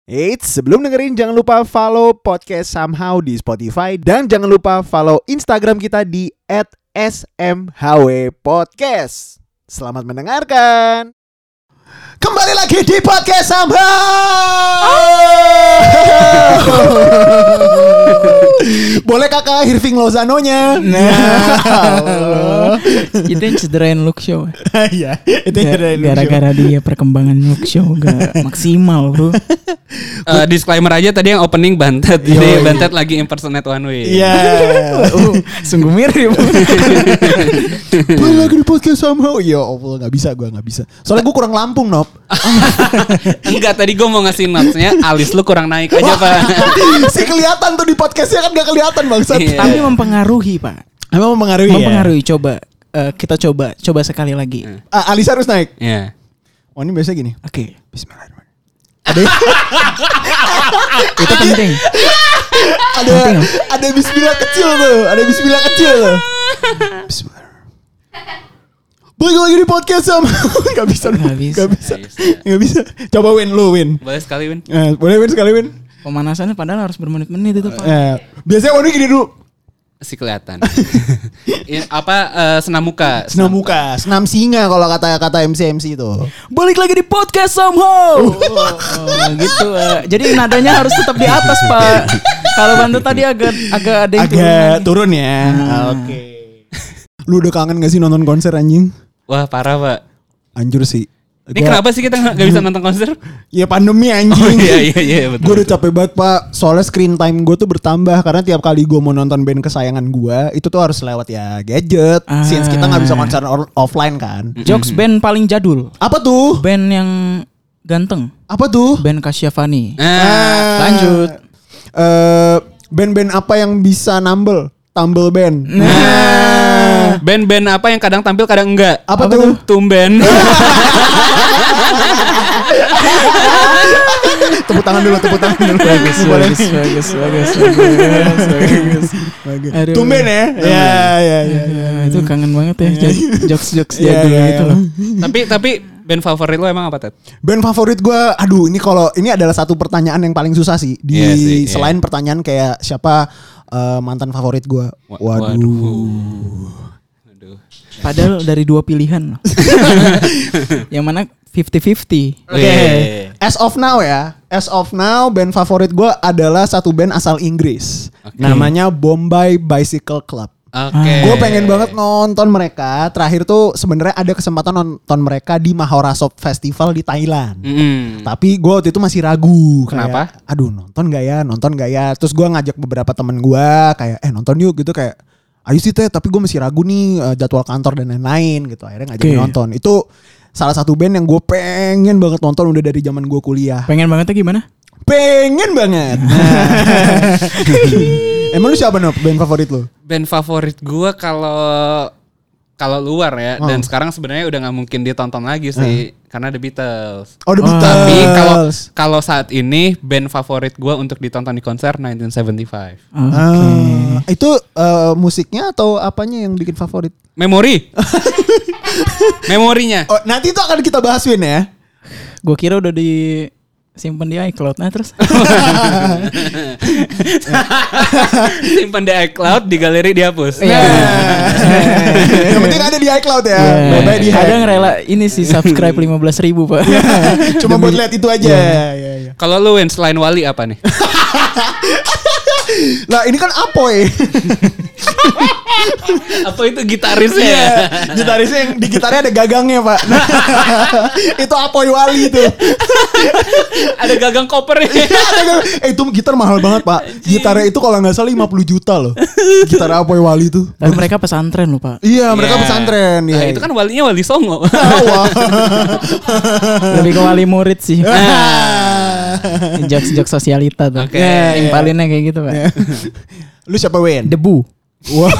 Eits, sebelum dengerin jangan lupa follow podcast Somehow di Spotify dan jangan lupa follow Instagram kita di @smhwpodcast. Selamat mendengarkan. Kembali lagi di podcast Somehow. Boleh kakak Irving Lozano-nya? Itu yang cederain look show. Iya, itu yang cederain look show. Gara-gara dia perkembangan look show gak maksimal, bro. Disclaimer aja tadi yang opening Bantet. Jadi Bantet lagi impersonate One Way. Iya. Sungguh mirip. Boleh lagi di podcast Somehow. Ya Allah, gak bisa. Soalnya gue kurang Lampung, Nop. Enggak, tadi gue mau ngasih notesnya alis lu kurang naik aja, Pak. Si kelihatan tuh di podcastnya kan gak kelihatan bangsat. Iya. Tapi mempengaruhi, Pak. Emang mempengaruhi ya? Mempengaruhi. Kita coba sekali lagi. Alis harus naik. Iya. Oh ini biasa gini. Oke. Bismillahirrahmanirrahim. Itu penting. Ada bismillah kecil tuh. Bismillahirrahmanirrahim. Balik lagi di podcast sama. Gak bisa. Coba Win. Boleh sekali, Win. Boleh Win sekali Win. Pemanasannya padahal harus bermenit-menit itu, Pak. Biasanya Win gini dulu. Si kelihatan. Senam muka. Senam singa kalau kata MC itu. Balik lagi di podcast Somehow. Gitu. Jadi nadanya harus tetap di atas, Pak. Kalau bantu tadi agak ada yang turun ya. Oke. Lu udah kangen gak sih nonton konser anjing? Wah, parah, Pak. Anjur sih. Ini kenapa sih kita gak bisa nonton konser? Ya pandemi anjing. Oh iya betul. Gue udah capek banget, Pak. Soalnya screen time gue tuh bertambah. Karena tiap kali gue mau nonton band kesayangan gue, itu tuh harus lewat ya gadget. Since kita gak bisa konser offline kan. Jokes band paling jadul. Apa tuh? Band yang ganteng. Apa tuh? Band Kasyafani. Lanjut. Band-band apa yang bisa Tumble band. Band-band apa yang kadang tampil kadang enggak? Apa tuh? Tumben. Tepuk tangan dulu. Bagus. Tumben ya? Ya. Itu kangen banget ya jokes jadul gitu loh. Tapi band favorit lo emang apa, Ted? Band favorit gue, ini adalah satu pertanyaan yang paling susah sih. Selain pertanyaan kayak siapa mantan favorit gue. Waduh. Padahal dari 2 pilihan loh. Yang mana 50-50. Oke. As of now band favorit gue adalah satu band asal Inggris. Namanya Bombay Bicycle Club. Gue pengen banget nonton mereka. Terakhir tuh sebenarnya ada kesempatan nonton mereka di Maharashtra Festival di Thailand. Tapi gue waktu itu masih ragu. Kenapa? Kayak, aduh nonton gak ya. Terus gue ngajak beberapa temen gue kayak nonton yuk gitu, kayak ayo sih Teh, tapi gue masih ragu nih jadwal kantor dan lain-lain gitu. Akhirnya ngajakin nonton. Itu salah satu band yang gue pengen banget nonton udah dari zaman gue kuliah. Pengen bangetnya gimana? Pengen banget. Emang lu siapa band favorit lu? Band favorit gue kalau luar ya, dan sekarang sebenarnya udah nggak mungkin ditonton lagi sih karena The Beatles. Oh The Beatles. Tapi kalau saat ini band favorit gue untuk ditonton di konser 1975. Itu musiknya atau apanya yang bikin favorit? Memorinya. Oh, nanti itu akan kita bahas Win ya. Gue kira udah disimpan di iCloud. Nah terus simpan di iCloud, di galeri dihapus. Yang penting ada di iCloud ya. Ada yang rela ini sih subscribe 15.000 Pak. Cuma buat lihat itu aja. Kalau lu Win, selain Wali apa nih? Lah ini kan Apoy. Apa itu gitarisnya? Iya, gitarisnya yang di gitarnya ada gagangnya Pak. Itu Apoy Wali itu. Ada gagang kopernya. Itu gitar mahal banget Pak. Gitarnya itu kalau nggak salah 50 juta loh. Gitar Apoy Wali itu. Dan mereka pesantren loh Pak. Iya mereka pesantren. Nah, itu kan walinya Wali Songo. Lebih ke wali murid sih. Jokes sosialita tuh. Impalinnya kayak gitu Pak. Lu siapa Wen? Debu. Wah.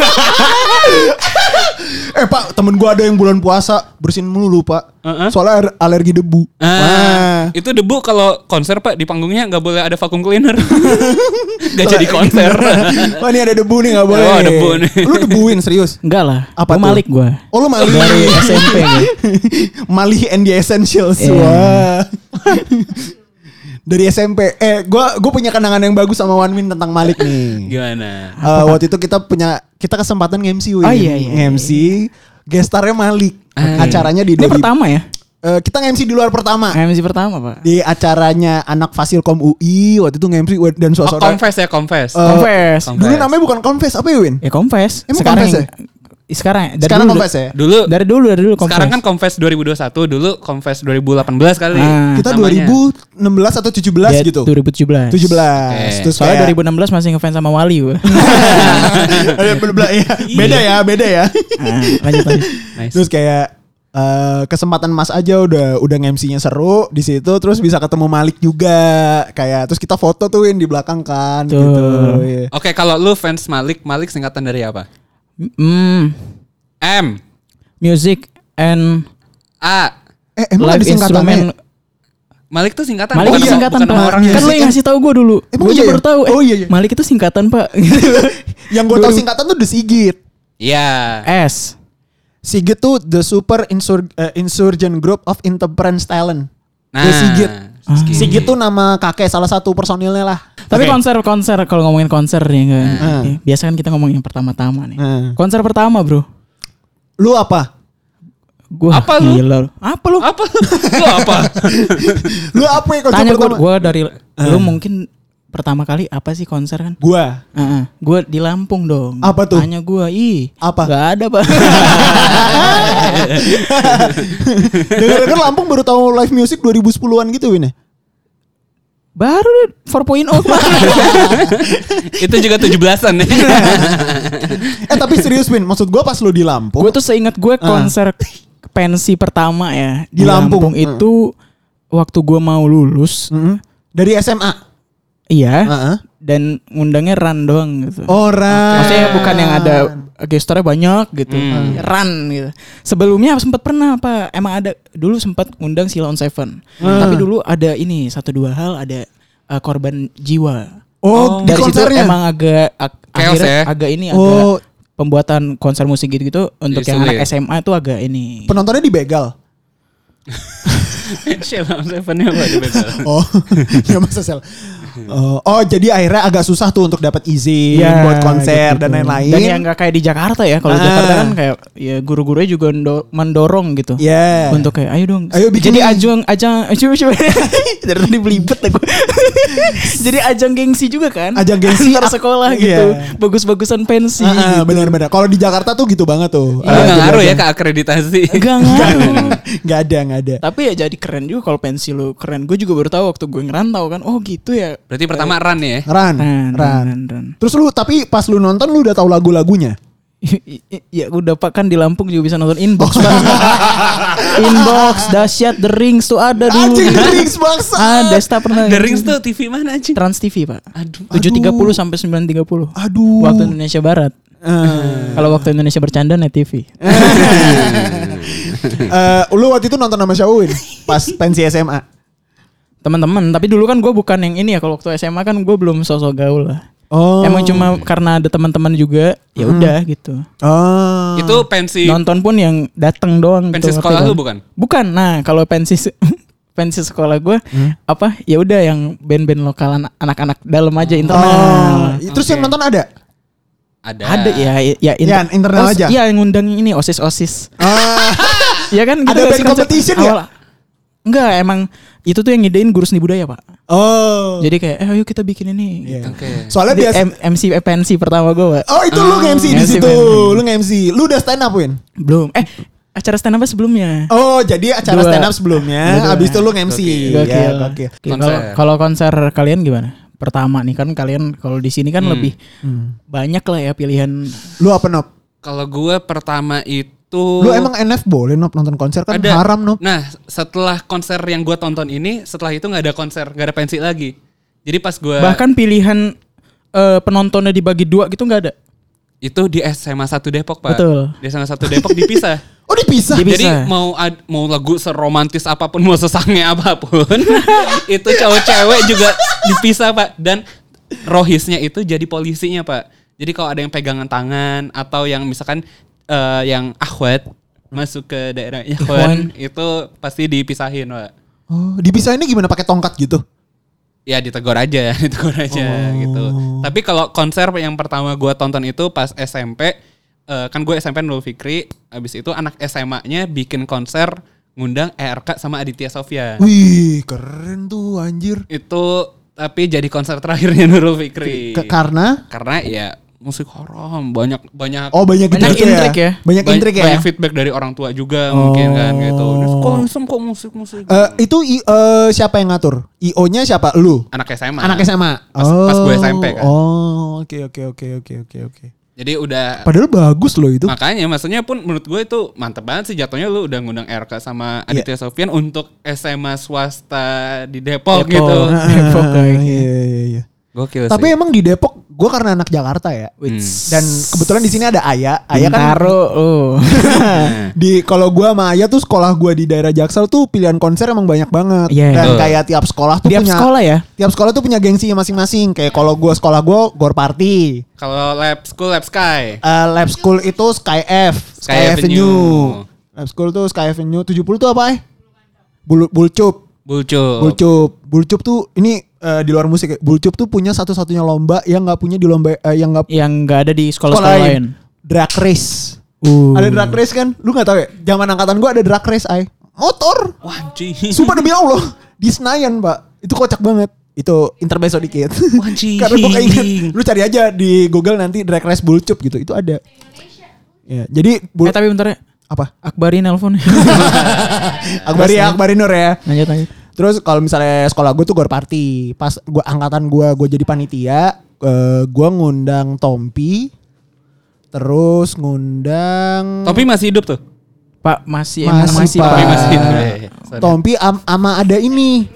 Pak, temen gue ada yang bulan puasa bersihin mulu Pak. Soalnya alergi debu. Itu debu kalau konser Pak di panggungnya nggak boleh ada vacuum cleaner. Gak jadi konser. Wah ini ada debu nih nggak boleh. Oh debu nih. Lu debuin serius? Enggak lah. Apa gua Malik gue. Oh lu Malik dari SMP gue. Malik and the Essentials. Wah. Dari SMP. Gue punya kenangan yang bagus sama Wanmin tentang Malik nih. Gimana? Waktu itu kita kesempatan nge-MC. Oh iya. Nge-MC. Gestarnya Malik. Acaranya di Ini pertama ya? Kita nge-MC di luar pertama. MC pertama Pak. Di acaranya anak Fasilkom UI. Waktu itu nge-MC dan suasana. Confess. Confess. Dulu namanya bukan Confess. Apa ya Win? Ya Confess. Emang Sekarang Confess ya? Sekarang Confess ya? Dari dulu Confess. Sekarang kan Confess 2021, dulu Confess 2018 kali. Kita namanya. 2016 atau 17 gitu. 2017. 17. Terus soalnya 2016 masih ngefans sama Wali gue. Beda ya. Lanjut. Nice. Terus kayak kesempatan Mas aja udah nge-MC-nya seru di situ, terus bisa ketemu Malik juga. Kayak terus kita foto tuh di belakang kan gitu. Iya. Oke, kalau lu fans Malik singkatan dari apa? M. Music and A. Emang ada live singkatannya? instrument. Malik tuh singkatan. Malik bukan- itu singkatan bukan Pak. nama orangnya. Kan lu yang ngasih tahu gue dulu. Emang Gue iya juga ya? baru tahu. Oh, iya. Malik itu singkatan Pak. Yang gue tahu singkatan tuh The Sigit. Iya. S. Sigit tuh The Super Insurgent Group of Intemperance Talent. The Sigit. Sigit tuh nama kakek salah satu personilnya lah. Tapi Oke. konser kalau ngomongin konser nih kan. Biasa kan kita ngomongin yang pertama-tama nih. Konser pertama, Bro. Lu apa? Gua Apa lu? gila. Apa lu? Apa? Lu apa? Lu apa ya konser Tanya pertama? gue dari lu mungkin pertama kali apa sih konser kan? Gua. Gue di Lampung dong. Apa tuh? Tanya gue, Apa? Gak ada Pak. Dengar-dengar Lampung baru tahu live music 2010-an gitu Win ya? Baru 4.0 kemarin. Itu juga 17-an ya. Tapi serius Win, maksud gua pas lu di Lampung. Gue tuh seingat gue konser pensi pertama ya Di Lampung. itu waktu gue mau lulus. Dari SMA. Iya. Dan ngundangnya Ran doang gitu. Orang. Maksudnya bukan yang ada gestornya banyak gitu. Ran gitu. Sebelumnya sempat pernah Pak. Emang ada dulu sempat ngundang Sheila on Seven. Tapi dulu ada ini 1-2 hal ada korban jiwa. Di Dari situ konsernya. emang agak Chaos akhirnya ya? agak ini Oh. agak pembuatan konser musik gitu-gitu untuk Jadi yang sulit. anak SMA tuh agak ini. Penontonnya dibegal. Sheila on Seven-nya apa di begal? Oh, ya masa sel. Jadi akhirnya agak susah tuh untuk dapat izin buat konser gitu. dan lain-lain. Dan yang nggak kayak di Jakarta ya. Kalau di Jakarta kan kayak ya guru-gurunya juga mendorong gitu. Yeah. Untuk kayak ayo dong. Ayo bikin Jadi nih. ajang coba. Dari tadi belibet aku. Jadi ajang gengsi juga kan. Ajang gengsi. antar sekolah Iya. gitu. Bagus-bagusan pensi. Gitu. Benar-benar. Kalau di Jakarta tuh gitu banget tuh. Lu nggak ngaruh ya ke akreditasi. Enggak ngaruh. Nggak ada. Tapi ya jadi keren juga kalau pensi lu keren. Gue juga baru tahu waktu gue ngerantau kan. Oh gitu ya. Berarti pertama Ran ya. Ran. Terus lu tapi pas lu nonton lu udah tahu lagu-lagunya. Ya udah Pak kan di Lampung juga bisa nonton Inbox Pak. Inbox dahsyat The Rings tuh ada dulu. Anjing The Rings bangsa. Ada Desta pernah. The Rings tuh TV mana anjing? Trans TV Pak. Aduh. 7.30 sampai 9.30. Aduh. Waktu Indonesia Barat. Kalau waktu Indonesia bercanda Net TV. Lu waktu itu nonton sama siapa Win? Pas pensi SMA. Teman-teman, tapi dulu kan gue bukan yang ini ya. Kalau waktu SMA kan gue belum sosok gaul lah. Oh. Emang cuma karena ada teman-teman juga, ya udah gitu. Oh. Itu pensi Nonton pun yang datang doang. pensi gitu, sekolah ngerti lu kan? bukan? Bukan. Nah, kalau pensi sekolah gue apa? Ya udah yang band-band lokal anak-anak dalam aja internal. Terus yang nonton ada? Ada ya internal aja. Iya, yang ngundang ini OSIS. Ya kan gitu Ada gak band sih konsep competition awal? Enggak, emang itu tuh yang ngidein guru seni budaya, Pak. Oh. Jadi kayak ayo kita bikin ini. Iya. Oke. Soalnya Jadi biasa. MC pensi pertama gue, Pak. Oh itu lu nge-MC di MC situ. pensi. Lu nge-MC. Lu udah stand up Win? Belum. Acara stand up sebelumnya. Oh jadi acara Dua. stand up sebelumnya. Dua. Abis itu lu nge-MC. Gokil. Ya, gokil. Kalau konser kalian gimana? Pertama nih kan kalian kalau di sini kan lebih banyak lah ya pilihan. Lu apa Nop? Kalau gue pertama itu Lu emang NF boleh Nop nonton konser kan ada. haram Nop. Nah setelah konser yang gue tonton ini, setelah itu nggak ada konser, nggak ada pensi lagi. Jadi pas gue Bahkan pilihan penontonnya dibagi dua gitu nggak ada. itu di SMA 1 Depok Pak. Betul. Di SMA 1 Depok dipisah. Oh dipisah? Dipisah. Jadi mau lagu seromantis apapun, mau sesange apapun, itu cowok-cewek juga dipisah Pak. Dan rohisnya itu jadi polisinya Pak. Jadi kalau ada yang pegangan tangan atau yang misalkan yang akhwat masuk ke daerah ikhwan itu pasti dipisahin Pak. Oh dipisahinnya gimana pakai tongkat gitu? Ya ditegur aja gitu. Tapi kalau konser yang pertama gue tonton itu pas SMP, kan gue SMP Nurul Fikri, abis itu anak SMA-nya bikin konser ngundang ERK sama Aditya Sofyan. Wih, keren tuh anjir. Itu tapi jadi konser terakhirnya Nurul Fikri. Karena ya musik haram, banyak Oh, banyak intrik ya. Banyak intrik ya. Banyak feedback dari orang tua juga mungkin kan gitu. Kok musik. Itu siapa yang ngatur? IO-nya siapa? Lu? Anak SMA. Pas gue SMP kan. Oh, oke. Jadi udah. Padahal bagus loh itu. Makanya maksudnya pun menurut gue itu mantep banget sih jatuhnya lu udah ngundang RK sama Aditya Sofyan untuk SMA swasta di Depok gitu. Depok Iya. Gokil. Tapi emang di Depok gue karena anak Jakarta ya. Dan kebetulan di sini ada Aya kan. Di kalau gue sama Aya tuh sekolah gue di daerah Jaksel tuh pilihan konser emang banyak banget. Dan kayak tiap sekolah tuh punya tiap sekolah tuh punya gengsinya masing-masing. Kayak kalau gue sekolah gue Gor Party. Kalau Lab Sky. Lab School itu Sky Avenue. Lab School tuh Sky Avenue 70 tuh apa Bulcup tuh ini di luar musik. Bulcup tuh punya satu-satunya lomba yang nggak punya di lomba yang nggak ada di sekolah lain. Drag race. Ada drag race kan? Lu nggak tahu ya? Zaman angkatan gua ada drag race motor. Wah, sumpah demi Allah di Senayan, Pak. Itu kocak banget. Itu intermezzo dikit. Karena gua kayak inget. Lu cari aja di Google nanti drag race Bulcup gitu. Itu ada. Ya, jadi tapi bentar ya. Apa? Akbari nelpon. Akbari Nur ya. Lanjut. Terus kalau misalnya sekolah gue tuh Gor Party. Pas gue angkatan gue jadi panitia, gue ngundang Tompi. Terus ngundang Tompi masih hidup tuh? Pak, masih Pak. Tompi masih hidup. Tompi ama ada ini.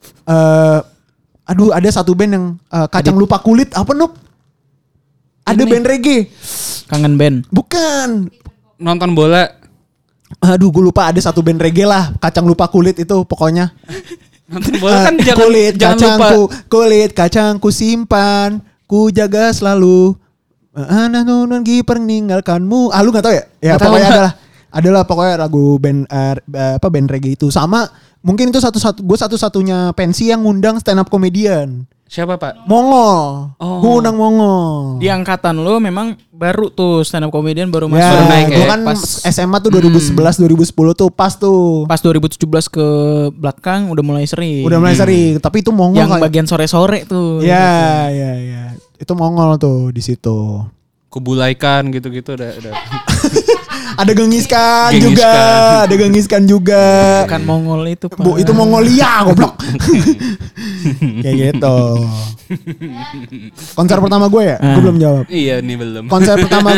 Ada satu band yang Kacang Lupa Kulit apa Nup? Ada band reggae. Kangen band. Bukan. Nonton bola. Gue lupa ada satu band reggae lah. Kacang Lupa Kulit itu pokoknya. Nonton bola kan jangan lupa. Kulit kacangku simpan, ku jaga selalu. Nun kiper meninggalkanmu. Lu nggak tahu ya? Ya pokoknya adalah pokoknya lagu band band reggae itu. Sama mungkin itu gue satu-satunya pensi yang ngundang stand up comedian. Siapa Pak? Mongol. Gue undang Mongol. Di angkatan lo memang baru tuh stand up comedian baru masuk. Baru naik gue kan pas SMA tuh 2011-2010 tuh pas tuh. Pas 2017 ke belakang udah mulai sering. Tapi itu Mongol. Yang bagian sore-sore tuh. Ya. Itu Mongol tuh di situ. Kubulaikan gitu-gitu udah. Ada gengiskan juga. Bukan Mongol itu, Pak. Itu Mongolia, goblok. Kayak gitu. Konser pertama gue ya? Gue belum jawab. Iya, nih belum. Konser pertama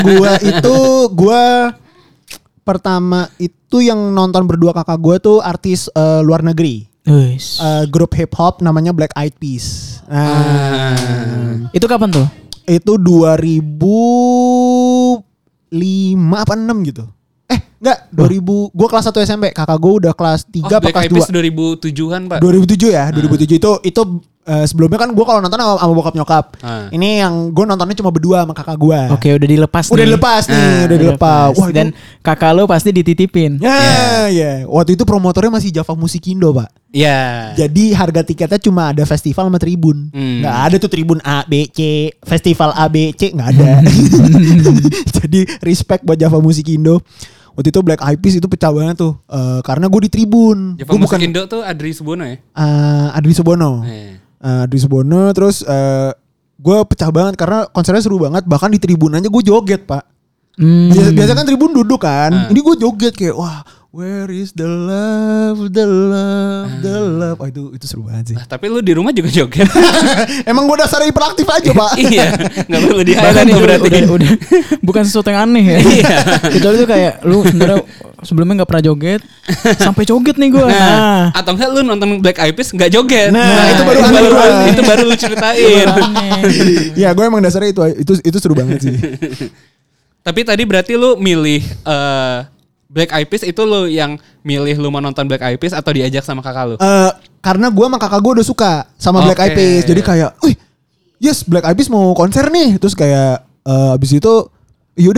pertama itu yang nonton berdua kakak gue tuh artis luar negeri. Grup hip hop namanya Black Eyed Peas. Itu kapan tuh? Itu 2005 apa 6 gitu. Enggak, 2000. Gue kelas 1 SMP, kakak gue udah kelas 3 apa kelas 2. 2007-an, Pak. 2007 ya, 2007 itu sebelumnya kan gue kalau nonton sama bokap nyokap. Ini yang gue nontonnya cuma berdua sama kakak gue. Oke, udah dilepas nih. Wah, dan kakak lo pasti dititipin. Ya. Waktu itu promotornya masih Java Musikindo, Pak. Iya. Jadi harga tiketnya cuma ada festival sama tribun. Nggak ada tuh tribun A, B, C, festival A, B, C nggak ada. Jadi respect buat Java Musikindo. Waktu itu Black Eyed Peas itu pecah banget tuh. Karena gue di tribun. Java Musikindo tuh Adri Subono ya? Adri Subono. Adri Subono terus gue pecah banget karena konsernya seru banget. Bahkan di tribun aja gue joget, Pak. Biasa kan tribun duduk kan. Ini gue joget kayak wah, where is the love. Oh, itu seru banget sih. Tapi lu di rumah juga joget. Emang gue dasarnya hiperaktif aja, Pak. Iya, nggak perlu di-highlight berarti. Udah bukan sesuatu yang aneh ya. Kecuali itu kayak lu sebenarnya sebelumnya nggak pernah joget, sampai joget nih gue. Atau enggak lu nonton Black Eyed Peas nggak joget. Itu baru aneh. Itu baru lu ceritain. Iya, gue emang dasarnya itu seru banget sih. Tapi tadi berarti lu milih Black Eyed Peas itu lu yang milih lu mau nonton Black Eyed Peas atau diajak sama kakak lu? Karena gue sama kakak gue udah suka sama Black Eyed Peas. Jadi kayak, yes Black Eyed Peas mau konser nih. Terus kayak abis itu yaudah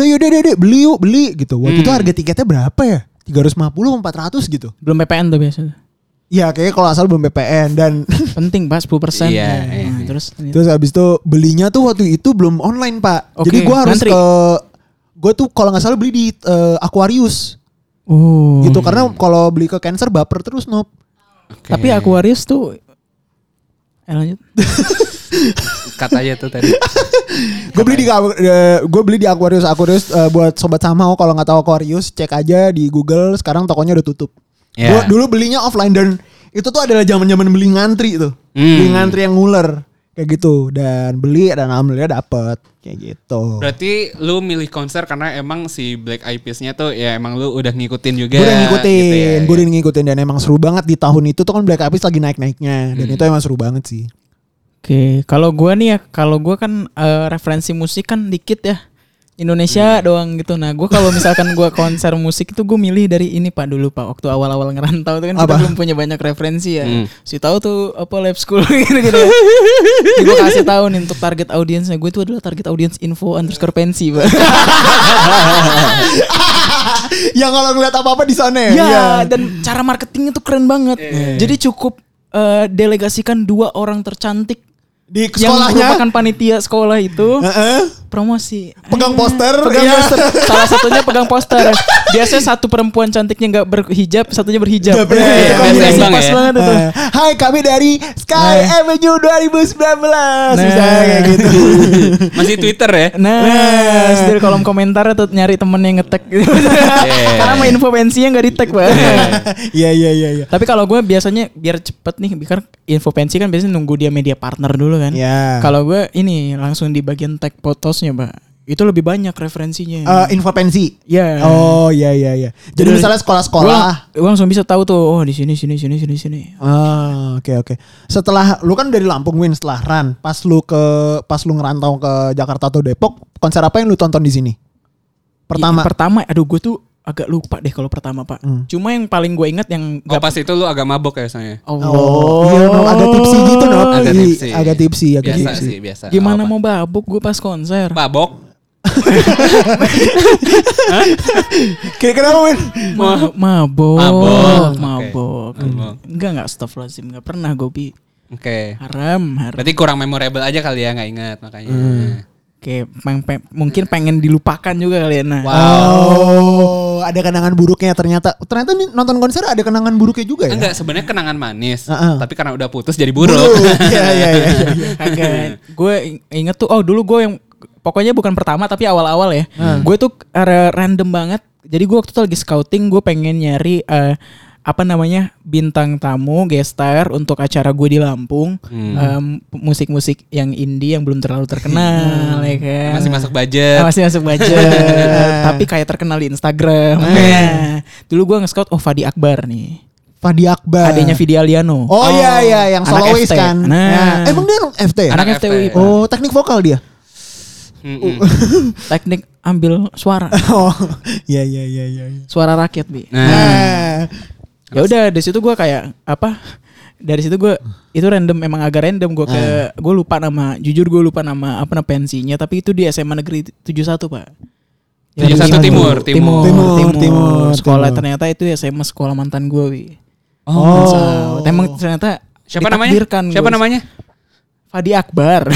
beli gitu. Waktu itu harga tiketnya berapa ya? 350 400 gitu. Belum PPN tuh biasanya. Iya kayaknya kalau asal belum VPN dan penting Pak 10%. Iya. Terus habis itu belinya tuh waktu itu belum online Pak. Oke, Jadi gue harus ngantri. gue tuh kalau nggak salah beli di Aquarius. Oh. Gitu karena kalau beli ke Cancer baper terus Nop. Okay. Tapi Aquarius tuh lanjut. Katanya tuh tadi. Gue beli di Aquarius buat sobat Samau kalau nggak tahu Aquarius cek aja di Google sekarang tokonya udah tutup. Yeah. Dulu belinya offline dan itu tuh adalah zaman-zaman beli ngantri tuh. Beli ngantri yang nguler kayak gitu dan beli dan alhamdulillah dapet kayak gitu. Berarti lu milih konser karena emang si Black Eyed Peas-nya tuh ya emang lu udah ngikutin juga. Gue udah ngikutin, gitu ya. gue udah ngikutin dan emang seru banget di tahun itu tuh kan Black Eyed Peas lagi naik-naiknya dan itu emang seru banget sih. Oke, kalau gue nih ya, kalau gue kan referensi musik kan dikit ya. Indonesia doang gitu. Nah, gue kalau misalkan gue konser musik itu gue milih dari ini Pak dulu Pak. Waktu awal-awal ngerantau itu kan kita belum punya banyak referensi ya. Si tahu tuh apa lab school gitu-gitu. Gue kasih tahu nih untuk target audiensnya. Gue itu adalah target audience info underscore pensi Pak. Yang kalau ngeliat apa-apa di sana ya. Ya, dan cara marketingnya tuh keren banget. Jadi cukup delegasikan 2 orang tercantik di yang sekolahnya merupakan panitia sekolah itu promosi pegang poster. Poster. Salah satunya pegang poster. Biasanya satu perempuan cantiknya nggak berhijab, satunya berhijab. Pas banget itu. Hai, kami dari Sky Avenue 2019. Bisa kayak gitu. Masih Twitter ya? Nah, di kolom komentar tuh nyari temen yang nge-tag gitu. Karena mau info pensinya nggak di-tag, Pak. Iya. Tapi kalau gue biasanya biar cepet nih, biar info pensi kan biasanya nunggu dia media partner dulu kan. Iya. Kalau gue ini langsung di bagian tag photosnya, Pak. Itu lebih banyak referensinya. Info pensi. Iya. Oh, iya. Jadi misalnya sekolah-sekolah. Gue langsung bisa tahu tuh, oh di sini. Oke. Setelah lu kan dari Lampung Win, setelah Ran, pas lu ngerantau ke Jakarta atau Depok, konser apa yang lu tonton di sini? Pertama, aduh gue tuh agak lupa deh kalau pertama Pak. Cuma yang paling gue ingat yang pas itu lu agak mabok ya soalnya. Iya, agak tipsi gitu agak tipsi. Biasa. Gimana mau babuk gue pas konser? Babok? Kenapa Win? Mabok. Enggak astagfirullahaladzim, enggak pernah gue Oke. Haram. Berarti kurang memorable aja kali ya, nggak ingat makanya. Oke, mungkin pengen dilupakan juga kali ya. Nah. Wow, ada kenangan buruknya ternyata nih nonton konser ada kenangan buruknya juga ya? Enggak, sebenarnya kenangan manis, tapi karena udah putus jadi buruk. Iya. Agak. Gue inget tuh, dulu gue yang pokoknya bukan pertama tapi awal-awal ya. Gue tuh random banget. Jadi gue waktu itu lagi scouting, gue pengen nyari bintang tamu guest star untuk acara gue di Lampung. Musik-musik yang indie yang belum terlalu terkenal ya kan. Masih masuk budget. Tapi kayak terkenal di Instagram. Dulu gue nge-scout Fadi Akbar nih. Fadi Akbar. Adanya Vidi Aliano. Oh iya yang soloist kan. Nah. Emang dia FT ya? Anak FTUI. Oh, teknik vokal dia. Teknik ambil suara. Oh, iya. Suara rakyat, Bi. Ya udah dari situ gue kayak dari situ gue itu random, emang agak random gue lupa nama pensinya, tapi itu di SMA Negeri 71 Pak. 71 Timur. Sekolah ternyata itu SMA sekolah mantan gue, Wi. Emang ternyata siapa namanya? Fadi Akbar.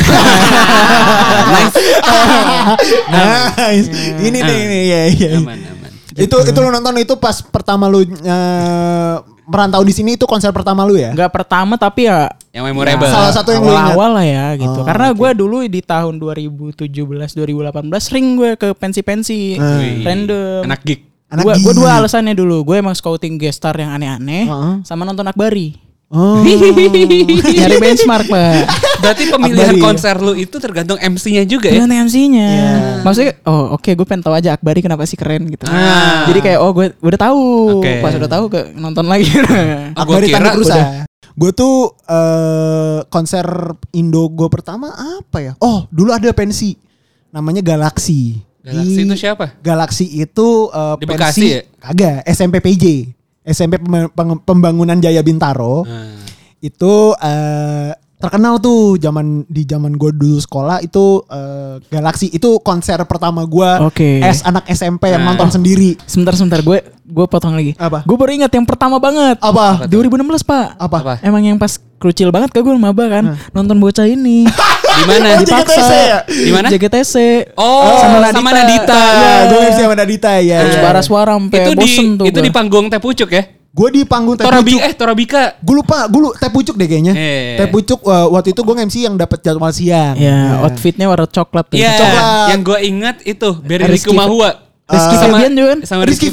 Nice. Ini ya. Aman. Itu lu nonton itu pas pertama lu merantau di sini, itu konser pertama lu ya? Enggak pertama tapi ya yang memorable. Salah satu yang lu ingat. Awal lah ya gitu. Karena gue dulu di tahun 2017 2018 sering gue ke pensi-pensi random. Anak geek. Gue 2 alasannya dulu. Gue emang scouting guest star yang aneh-aneh sama nonton Akbari. Nyari benchmark, Pak. Berarti pemilihan konser lu itu tergantung MC-nya juga ya? Tergantung MC-nya. Maksudnya gue pengen tahu aja Akbari kenapa sih keren gitu. Jadi kayak gue udah tahu. Pas udah tahu nonton lagi. Akbari tanda berusaha. Gue tuh konser Indo gue pertama apa ya? Dulu ada pensi namanya Galaxy. Galaxy itu siapa? Galaxy itu di pensi Bekasi ya? Kagak, SMP PJ. SMP Pembangunan Jaya Bintaro. Itu terkenal tuh di zaman gue dulu sekolah itu Galaxy itu konser pertama gue anak SMP yang nonton sendiri. Sebentar gue potong lagi. Apa? Gue baru ingat yang pertama banget. Apa? 2016 Pak. Apa? Emang yang pas krucil banget gue maba kan nonton bocah ini. Di mana? JGTC ya? Di mana? JGTC. Oh, sama Nadita. Ya, gue MC sama Nadita ya. Terus suara sampai bosen tuh. Itu di panggung Teh Pucuk ya? Gue di panggung Teh Pucuk. Torabika. Gue lupa Teh Pucuk deh kayaknya. Teh Pucuk waktu itu gue MC yang dapat jadwal siang. Ya, outfitnya warna coklat. Iya. Coklat. Yang gue ingat itu Berry Likumahua. Rizky Febian juga kan? Sama Rizky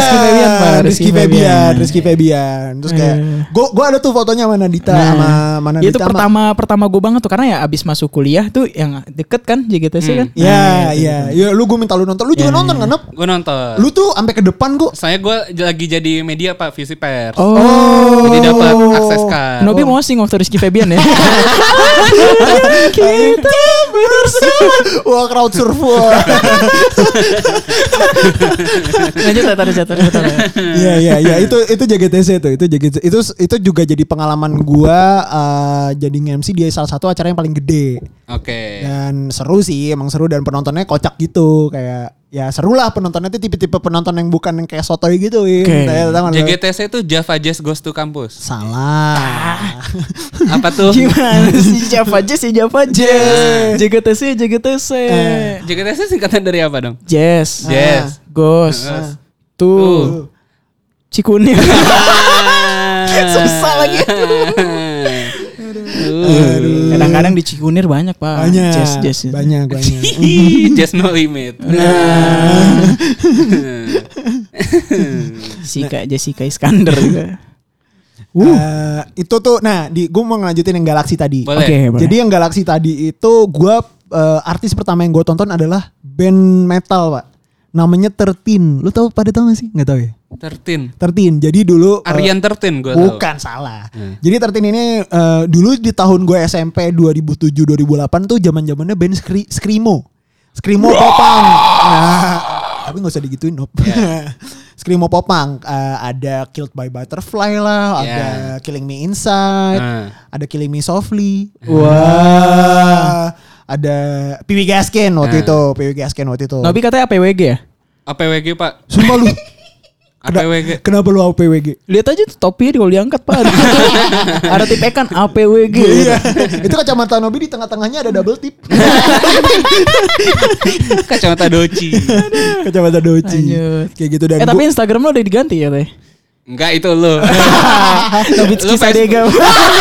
Febian. Terus kayak gue ada tuh fotonya sama Nadita sama Nadita. Itu pertama gue banget tuh karena ya abis masuk kuliah tuh yang deket kan JGTC kan. Iya. Ya lu gue minta lu nonton. Lu juga nonton kan, Nop? Gue nonton. Lu tuh sampai ke depan kok. Saya gue lagi jadi media Pak, visi pers. Oh. Jadi dapat akses kan. Nobi mosing waktu Rizky Febian ya. Kita bersama. Wah, crowd surf. Lanjut Iya itu JGTC tuh. Itu juga jadi pengalaman gua jadi nge-MC di salah satu acara yang paling gede. Oke. Dan seru sih, emang seru dan penontonnya kocak gitu, kayak ya seru lah penontonnya tuh tipe-tipe penonton yang bukan yang kayak sotoy gitu. JGTC itu Java Jazz Goes to Campus. Salah. Apa tuh? Gimana sih Java Jazz? JGTC. JGTC singkatan dari apa dong? Jazz. Goes. Tuh. Cikunir. Susah lagi. Kadang-kadang di Cikunir banyak Pak. Jazz. Banyak. Jazz no limit. Jessica Iskandar juga. Itu tuh, gue mau ngelanjutin yang Galaxy tadi. Boleh. Jadi yang Galaxy tadi itu gue artis pertama yang gue tonton adalah band metal Pak. Namanya 13. Lu pada tahu gak sih? Gak tahu ya? 13. Jadi dulu Aryan 13 gue tahu. Bukan, salah. Jadi 13 ini dulu di tahun gue SMP 2007-2008 tuh zaman-zamannya band Screamo Popang. Tapi gak usah digituin, Nop. Screamo Popang. Ada Killed by Butterfly lah, ada Killing Me Inside, ada Killing Me Softly. Wah. Ada Piwi Gaskin waktu itu. Nobi katanya APWG ya? APWG Pak. Sumpah lu. APWG. Kenapa lu APWG? Lihat aja tuh topi kalau diangkat Pak. Ada tip ikan APWG. Iya. Itu kacamata Nobi di tengah-tengahnya ada double tip. Kacamata Doci. Kayak gitu dan tapi Instagram lo udah diganti ya Teh? Enggak, itu lo. Nobitski Sadega.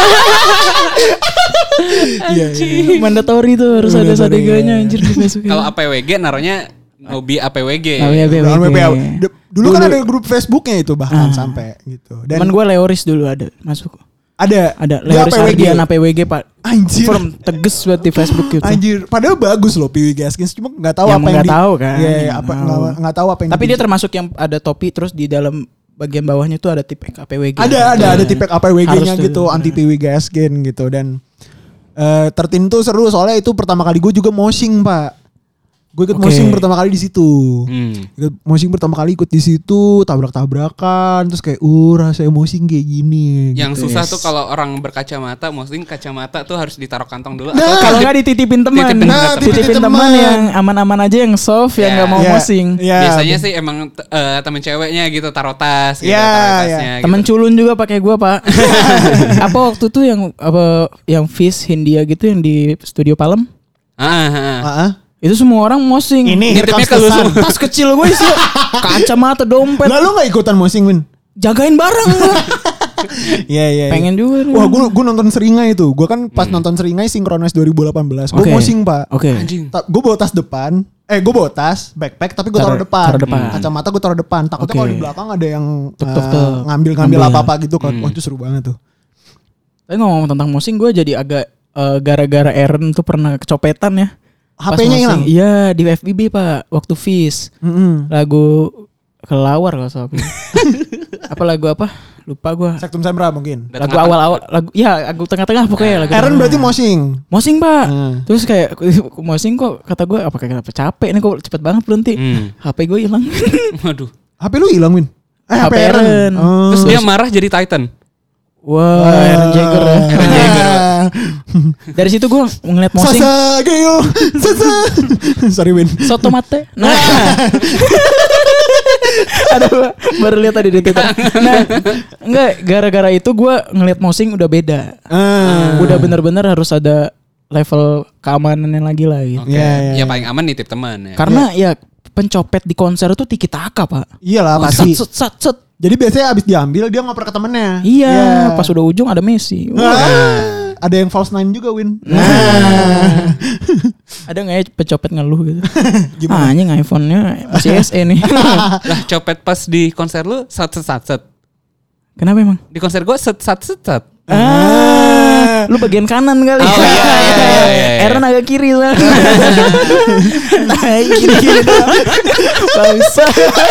Iya. Mandatory tuh harus ada Sadeganya anjir di Facebook. Kalau APWG naruhnya Nobi APWG. Dulu kan ada grup Facebooknya itu bahkan sampai gitu. Dan teman gue Leoris dulu ada masuk. Ada Leoris Ardian APWG Pak. Anjir. Form tegas buat di Facebook gitu. Anjir, padahal bagus loh Piwi Gaskins, cuma nggak tahu apa yang tahu kan. Iya, nggak tahu apa yang. Tapi dia termasuk yang ada topi terus di dalam bagian bawahnya tuh ada tipek APWG. Ada tipek APWG-nya gitu, anti Piwi Gaskin gitu. Dan tertentu seru soalnya itu pertama kali gue juga moshing Pak. Gue ikut moshing pertama kali di situ. Moshing pertama kali ikut di situ, tabrak-tabrakan, terus kayak rasanya moshing kayak gini. Yang gitu. susah tuh kalau orang berkacamata, moshing kacamata tuh harus ditaruh kantong dulu. Kalau nggak dititipin teman. Dititipin teman yang aman-aman aja, yang soft, yang nggak mau moshing. Biasanya sih emang temen ceweknya gitu taruh tas, gitu, taruh tasnya. Temen culun juga pakai gue Pak. Apa waktu tuh yang Fish Hindia gitu yang di Studio Palem? Itu semua orang moshing. Ini tas kecil gue sih. Kacamata, dompet. Lalu gak ikutan moshing Win? Jagain barang. Iya. Pengen juga. Wah gue nonton Seringai itu. Gue kan pas nonton Seringai Synchronize 2018. Gue moshing Pak. Gue bawa tas depan. Gue bawa tas, backpack, tapi gue taruh depan. Kacamata gue taruh depan. Takutnya kalau di belakang ada yang ngambil apa-apa gitu kan. Wah itu seru banget tuh. Tapi ngomong tentang moshing, gue jadi agak gara-gara Aaron tuh pernah kecopetan ya. HP-nya hilang? Iya di FBB Pak. Waktu Fish. Lagu Kelawar kalau salah. Apa lagu apa? Lupa gue. Sektum Sembra mungkin. Lagu awal-awal. Lagu tengah-tengah pokoknya. Aaron berarti moshing? Moshing Pak. Terus kayak moshing kok kata gue apa kayak capek nih kok cepet banget berhenti. HP gue hilang. Waduh. HP lu hilang Win? HP Aaron. Terus dia marah jadi Titan. Wah, Aaron Jagger ya. Aaron Jagger. Dari situ gue ngeliat mosing. Sasa Geo. Sasa. Sorry Win. Soto mate. Nah. Aduh, baru lihat tadi di Twitter. Nah, enggak, gara-gara itu gue ngeliat mosing udah beda. Udah bener-bener harus ada level keamanannya lagi lah gitu. Oke. Ya paling aman nitip teman ya. Karena ya pencopet di konser tuh tiki taka, Pak. Iyalah pasti. Set. Jadi biasanya abis diambil dia ngoper ke temennya. Iya, pas udah ujung ada Messi. Ada yang false nine juga Win. Ada nggak ya pencopet ngeluh gitu? Gimana? Anjing iPhone-nya masih SE nih. Lah copet pas di konser lu set. Kenapa emang? Di konser gue set. Lu bagian kanan kali. Oh, iya. Aaron agak kiri lah. Nah, kiri doang. Bangsa.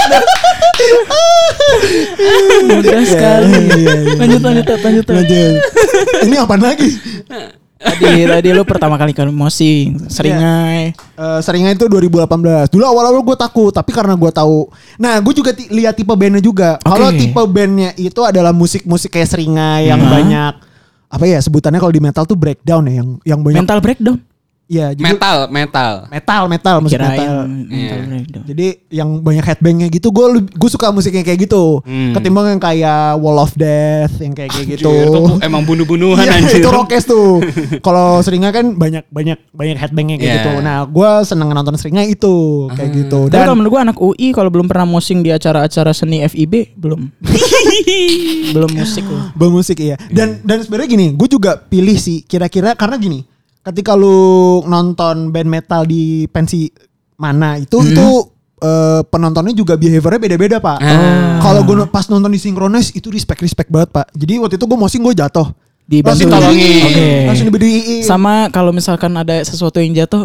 Mudah sekali. Lanjut. Ini apaan lagi? Tadi lu pertama kali mosing, Seringai. Seringai itu 2018. Dulu awal-awal gue takut, tapi karena gue tahu. Nah, gue juga lihat tipe bandnya juga. Kalau tipe bandnya itu adalah musik-musik kayak Seringai yang banyak apa ya sebutannya kalau di metal tuh breakdown ya, yang banyak mental breakdown. Iya, metal musik metal. Jadi yang banyak headbangnya gitu, gue suka musiknya kayak gitu. Ketimbang yang kayak Wall of Death yang kayak gitu. Itu emang bunuh-bunuhan anjir. Itu rockes tuh. Kalau Seringai kan banyak headbangnya kayak gitu. Nah, gue seneng nonton Seringai itu kayak gitu. Dan kalau menurut gue anak UI kalau belum pernah mosing di acara-acara seni FIB belum. Belum musik loh. Belum musik iya. Dan sebenarnya gini, gue juga pilih sih kira-kira karena gini. Ketika lu nonton band metal di pensi mana itu penontonnya juga behaviornya beda-beda Pak. Kalau gue pas nonton di Synchronize itu respect banget Pak. Jadi waktu itu gue mosing gue jatuh. Langsung tolongin. Langsung diberdiriin. Sama kalau misalkan ada sesuatu yang jatuh,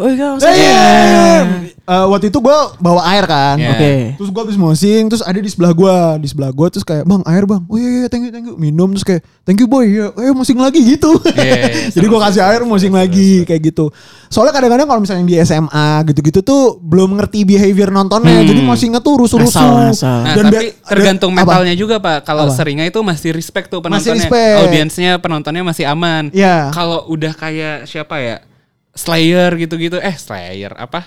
waktu itu gue bawa air kan. Terus gue habis mosing, terus ada di sebelah gue terus kayak bang air bang, oh iya thank you minum terus kayak thank you boy, ya mosing lagi gitu. Jadi gue kasih air mosing lagi kayak gitu. Soalnya kadang-kadang kalau misalnya di SMA gitu-gitu tuh belum ngerti behavior nontonnya, jadi mosingnya tuh rusuh-rusuh. Nah, Dan tapi tergantung metalnya juga Pak. Kalau Seringai itu masih respect tuh penontonnya, audiensnya penontonnya masih aman. Kalau udah kayak siapa ya? Slayer gitu-gitu. Slayer apa?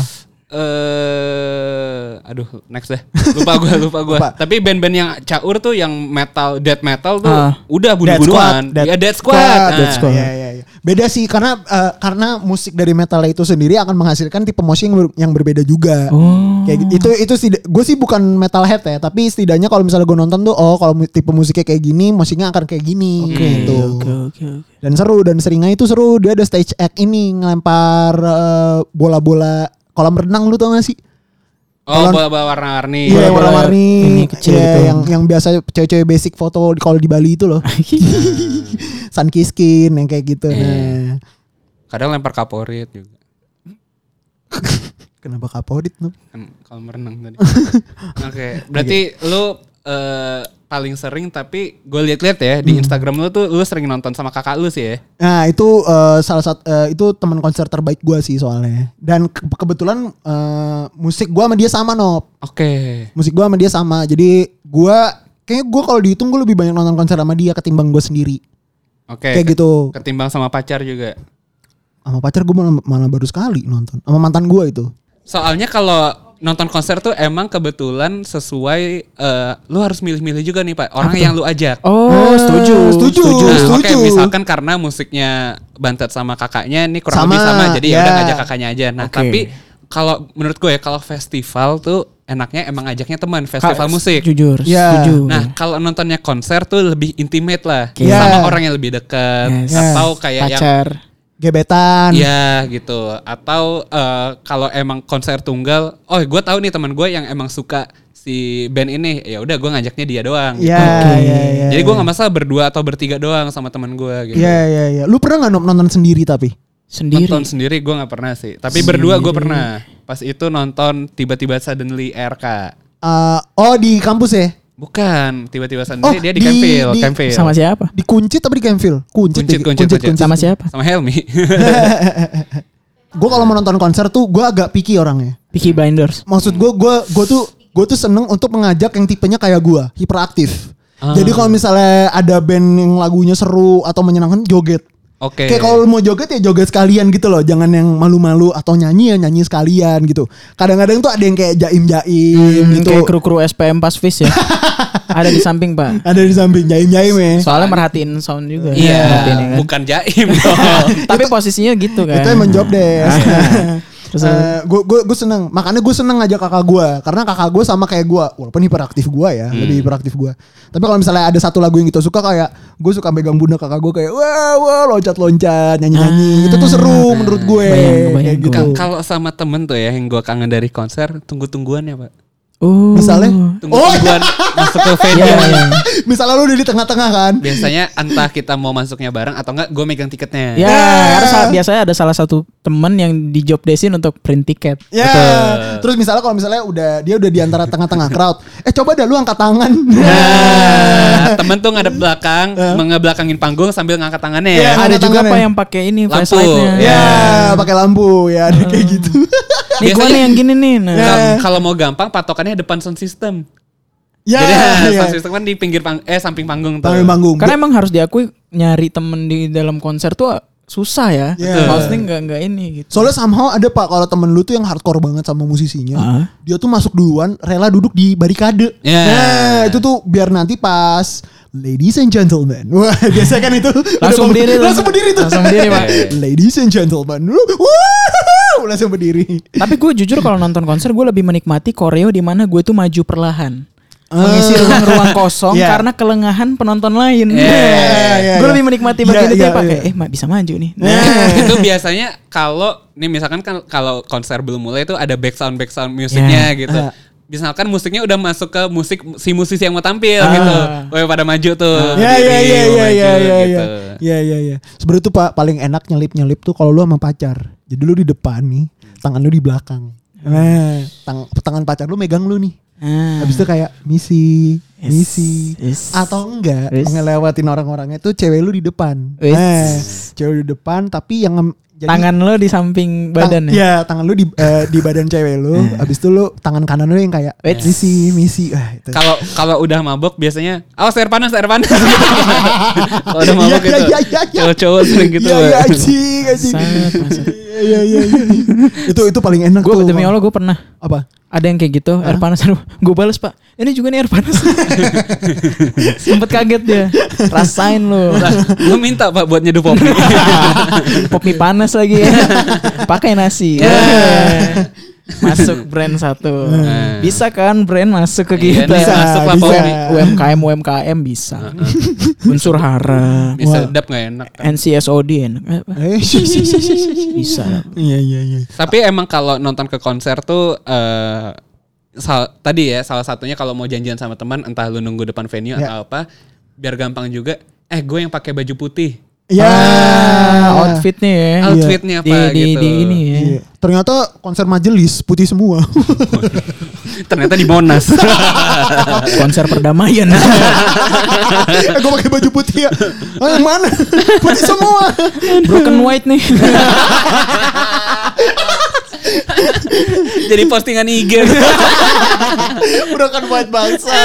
Aduh, next deh. Lupa gue. Tapi band-band yang caur tuh yang metal, death metal tuh udah bunuh-bunuhan. Ya Death Squad. Iya. Beda sih karena musik dari metal itu sendiri akan menghasilkan tipe musik yang berbeda juga. Kayak gitu. Itu gue sih bukan metalhead ya, tapi setidaknya kalau misalnya gue nonton tuh kalau tipe musiknya kayak gini, musiknya akan kayak gini gitu. Okay. Dan seru, dan Seringai itu seru. Dia ada stage act ini ngelempar bola-bola kolam renang, lu tau gak sih? Bola-bola warna-warni. Iya, warna-warni. Ini kecil gitu. Yang biasa cewek-cewek basic foto kalau di Bali itu loh. Sunkiskin yang kayak gitu. Nah. Kadang lempar kaporit juga. Kenapa kaporit? Kan kolam renang tadi. Oke, berarti lu paling sering, tapi gue liat-liat ya di Instagram lu tuh lu sering nonton sama kakak lu sih ya. Nah itu salah satu itu teman konser terbaik gue sih soalnya. Dan kebetulan musik gue sama dia sama Nop. Musik gue sama dia sama. Jadi kayaknya gue kalau dihitung gue lebih banyak nonton konser sama dia ketimbang gue sendiri. Kayak gitu. Ketimbang sama pacar juga. Sama pacar gue malah baru sekali nonton. Sama mantan gue itu. Soalnya kalau nonton konser tuh emang kebetulan sesuai lu harus milih-milih juga nih Pak orang yang lu ajak. Setuju. Oke, misalkan karena musiknya bantet sama kakaknya nih kurang lebih sama, jadi ya udah ngajak kakaknya aja. Nah tapi kalau menurut gue ya kalau festival tuh enaknya emang ajaknya teman, festival musik. Jujur, setuju. Nah kalau nontonnya konser tuh lebih intimate lah, sama orang yang lebih dekat atau kayak pacar. Gebetan. Iya gitu. Atau kalau emang konser tunggal, gue tahu nih teman gue yang emang suka si band ini, ya udah gue ngajaknya dia doang. Iya. Jadi gue nggak masalah berdua atau bertiga doang sama teman gue gitu. Iya. Lu pernah nggak nonton sendiri tapi? Nonton sendiri gue nggak pernah sih. Tapi berdua gue pernah. Pas itu nonton tiba-tiba Suddenly RK. Di kampus ya? Bukan, tiba-tiba sendiri dia di Campville. Sama siapa? Di Kuncit tapi di Campville? Kuncit. Sama siapa? Sama Helmi. Gue kalau mau nonton konser tuh gue agak picky orangnya. Peaky Blinders. Maksud gue tuh seneng untuk mengajak yang tipenya kayak gue, hiperaktif. Jadi kalau misalnya ada band yang lagunya seru atau menyenangkan, joget. Oke. Kayak kalau mau joget ya joget sekalian gitu loh. Jangan yang malu-malu atau nyanyi ya nyanyi sekalian gitu. Kadang-kadang tuh ada yang kayak jaim-jaim gitu. Kayak kru-kru SPM Pasvis ya. Ada di samping Pak. Ada di samping jaim-jaim ya. Soalnya merhatiin sound juga. Iya, Merhatiin, ya kan? bukan jaim dong. Tapi posisinya gitu kan. Itu emang job desk. Terus Gue seneng. Makanya gue seneng ngajak kakak gue. Karena kakak gue sama kayak gue. Walaupun hiperaktif gue ya. Lebih hiperaktif gue. Tapi kalau misalnya ada satu lagu yang kita suka kayak. Gue suka megang pundak kakak gue kayak. Wah loncat-loncat. Nyanyi-nyanyi. Itu tuh seru menurut gue. Bayang Kayak gitu. Kalau sama temen tuh ya yang gue kangen dari konser, tunggu-tungguan ya Pak. Misalnya. Tunggu-tungguan masuk ke venue. Iya. Misalnya lu udah di tengah-tengah kan. Biasanya entah kita mau masuknya bareng atau enggak gue megang tiketnya. Ya, biasanya ada salah satu temen yang di job desin untuk print tiket. Ya. Terus misalnya kalau misalnya dia udah di antara tengah-tengah crowd. Coba dah lu angkat tangan. Nah, temen tuh ngadep belakang, ngebelakangin panggung sambil ngangkat tangannya ya. Ada juga tangannya. Pak yang pakai ini Lampu. flashlightnya. Ya, pakai lampu ya ada kayak gitu. Nih gue nih yang gini nih. Nah. Kalau mau gampang patokannya depan sound system. Ya, Jadi ya. sound system kan di pinggir samping panggung tuh. Panggung panggung. Karena emang harus diakui nyari temen di dalam konser tuh susah ya. Iya. Maksudnya nggak ini gitu. Soalnya somehow ada Pak kalau temen lu tuh yang hardcore banget sama musisinya. Dia tuh masuk duluan, rela duduk di barikade. Yeah. Nah, itu tuh biar nanti pas ladies and gentlemen. Wah, biasa kan itu. Langsung berdiri tuh. Langsung berdiri tuh. Langsung berdiri, Pak. Ladies and gentlemen. Langsung berdiri. Tapi gue jujur kalau nonton konser gue lebih menikmati koreo di mana gue tuh maju perlahan. Mengisi ruang-ruang kosong Yeah. karena kelengahan penonton lain. Yeah. Gue lebih menikmati bagian itu Yeah, ya pakai. yeah. Bisa maju nih. Itu biasanya kalau nih misalkan kan kalau konser belum mulai itu ada back sound musiknya gitu. Misalkan musiknya udah masuk ke si musisi yang mau tampil gitu. Wah pada maju tuh. Iya. Sebenarnya tuh Pak paling enak nyelip tuh kalau lu sama pacar. Jadi lu di depan nih, tangan lu di belakang. Nah, tangan pacar lu megang lu nih. Habis itu kayak misi atau enggak ngelewatin orang-orangnya tuh cewek lu di depan. Cewek lu di depan tapi yang tangan lo di samping badan ya? Iya, tangan lu di badan cewek lu. Habis itu lu tangan kanan lu yang kayak misi. Itu. Kalau udah mabok biasanya awas air panas gitu. Kalau udah mabok gitu. Cowok-cowok sering gitu. Iya, anjing. Iya. Itu paling enak tuh. Demi Allah gue pernah. Apa? Ada yang kayak gitu, air panas. Gue balas Pak, ini juga nih air panas. Sempet kaget dia. Rasain lo. Gue minta Pak buat nyeduh pop mie. Pop mie panas lagi ya. Pakai nasi. Masuk brand satu. Bisa kan brand masuk ke kita. Bisa masuk lah pop mie. UMKM bisa. Unsur hara. Bisa sedap gak enak. NCSOD enak. Bisa. Iya. Tapi emang kalau nonton ke konser tuh tadi ya salah satunya kalau mau janjian sama teman entah lu nunggu depan venue atau apa biar gampang juga. Gue yang pakai baju putih. Ya, outfitnya ya. Outfitnya apa gitu. Di ini ya. Iya. Ternyata konser majelis putih semua. Ternyata di Monas. Konser perdamaian. Gue pakai baju putih ya. Yang mana? Putih semua. Broken white nih. Jadi postingan IG. Broken white bangsa.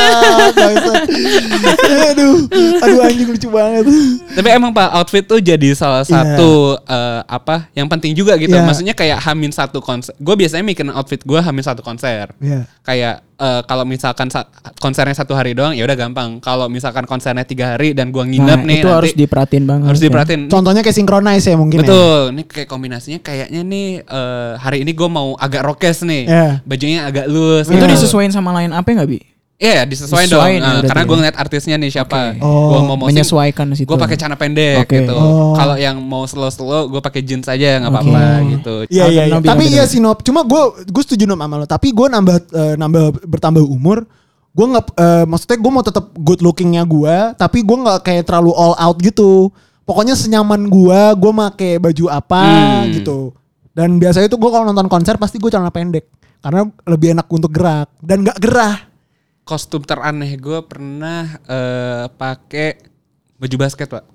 Aduh anjing lucu banget. Tapi emang Pak outfit tuh jadi salah satu yang penting juga gitu. Maksudnya kayak hamin satu konser. Gue biasanya mikirin outfit gue hamin satu konser. Kayak kalau misalkan konsernya 1 hari doang ya udah gampang. Kalau misalkan konsernya 3 hari dan gue nginep nih itu harus diperhatiin banget. Harus diperhatiin. Contohnya kayak synchronize ya mungkin. Betul. Ini kayak kombinasinya kayaknya nih hari ini gue mau agak rockes nih. Bajunya agak loose. Itu disesuaikan sama line apa nggak Bi? Iya, disesuaikan dong. Karena gue ngeliat artisnya nih siapa. Gue mau menyesuaikan situ. Gue pakai celana pendek gitu. Kalau yang mau slow gue pakai jeans aja nggak apa-apa gitu. Iya. Tapi iya sih Nop. Cuma gue setuju Nop sama lo. Tapi gue bertambah umur. Gue nggak maksudnya gue mau tetap good lookingnya gue. Tapi gue nggak kayak terlalu all out gitu. Pokoknya senyaman gue pakai baju apa gitu. Dan biasanya tuh gue kalau nonton konser pasti gue celana pendek. Karena lebih enak untuk gerak dan nggak gerah. Kostum teraneh gue pernah pakai baju basket Pak.